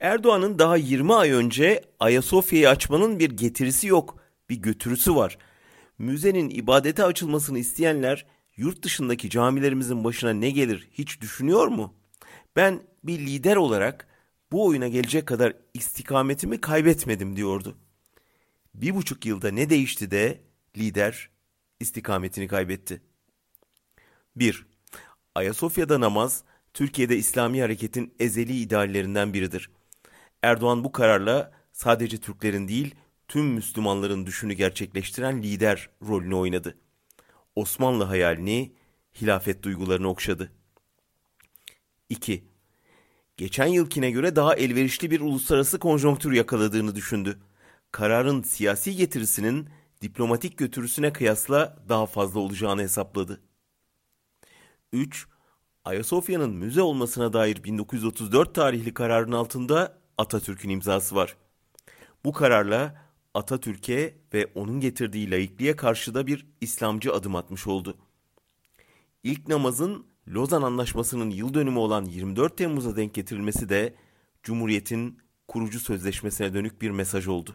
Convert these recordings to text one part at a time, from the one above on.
Erdoğan'ın daha 20 ay önce Ayasofya'yı açmanın bir getirisi yok, bir götürüsü var. Müzenin ibadete açılmasını isteyenler yurt dışındaki camilerimizin başına ne gelir hiç düşünüyor mu? Ben bir lider olarak bu oyuna gelecek kadar istikametimi kaybetmedim diyordu. 1,5 yılda ne değişti de lider istikametini kaybetti? 1. Ayasofya'da namaz, Türkiye'de İslami hareketin ezeli ideallerinden biridir. Erdoğan bu kararla sadece Türklerin değil, tüm Müslümanların düşünü gerçekleştiren lider rolünü oynadı. Osmanlı hayalini, hilafet duygularını okşadı. 2. Geçen yılkine göre daha elverişli bir uluslararası konjonktür yakaladığını düşündü. Kararın siyasi getirisinin diplomatik götürüsüne kıyasla daha fazla olacağını hesapladı. 3. Ayasofya'nın müze olmasına dair 1934 tarihli kararın altında Atatürk'ün imzası var. Bu kararla Atatürk'e ve onun getirdiği laikliğe karşı da bir İslamcı adım atmış oldu. İlk namazın Lozan Anlaşması'nın yıl dönümü olan 24 Temmuz'a denk getirilmesi de Cumhuriyet'in kurucu sözleşmesine dönük bir mesaj oldu.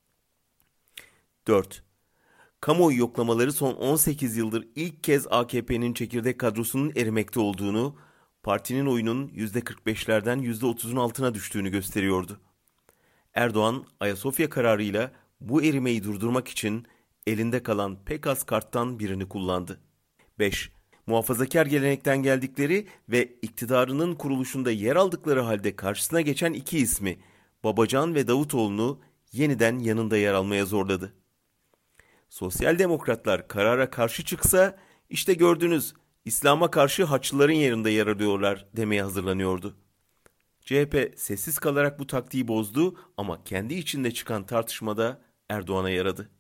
4. Kamuoyu yoklamaları son 18 yıldır ilk kez AKP'nin çekirdek kadrosunun erimekte olduğunu, partinin oyunun %45'lerden %30'un altına düştüğünü gösteriyordu. Erdoğan, Ayasofya kararıyla bu erimeyi durdurmak için elinde kalan pek az karttan birini kullandı. 5. Muhafazakar gelenekten geldikleri ve iktidarının kuruluşunda yer aldıkları halde karşısına geçen iki ismi, Babacan ve Davutoğlu'nu yeniden yanında yer almaya zorladı. Sosyal demokratlar karara karşı çıksa, işte gördünüz, İslam'a karşı Haçlıların yerinde yer alıyorlar demeye hazırlanıyordu. CHP sessiz kalarak bu taktiği bozdu ama kendi içinde çıkan tartışmada Erdoğan'a yaradı.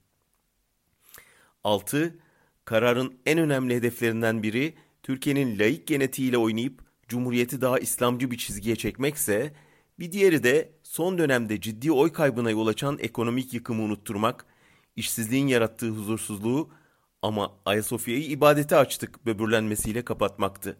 6. Kararın en önemli hedeflerinden biri Türkiye'nin laik genetiğiyle oynayıp Cumhuriyeti daha İslamcı bir çizgiye çekmekse, bir diğeri de son dönemde ciddi oy kaybına yol açan ekonomik yıkımı unutturmak, işsizliğin yarattığı huzursuzluğu ama Ayasofya'yı ibadete açtık böbürlenmesiyle kapatmaktı.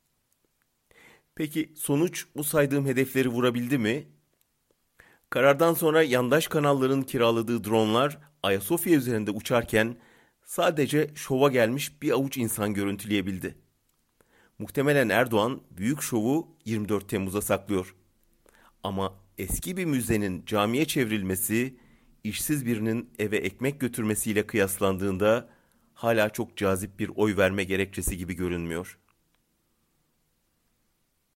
Peki sonuç bu saydığım hedefleri vurabildi mi? Karardan sonra yandaş kanalların kiraladığı dronlar Ayasofya üzerinde uçarken sadece şova gelmiş bir avuç insan görüntüleyebildi. Muhtemelen Erdoğan büyük şovu 24 Temmuz'a saklıyor. Ama eski bir müzenin camiye çevrilmesi, işsiz birinin eve ekmek götürmesiyle kıyaslandığında hala çok cazip bir oy verme gerekçesi gibi görünmüyor.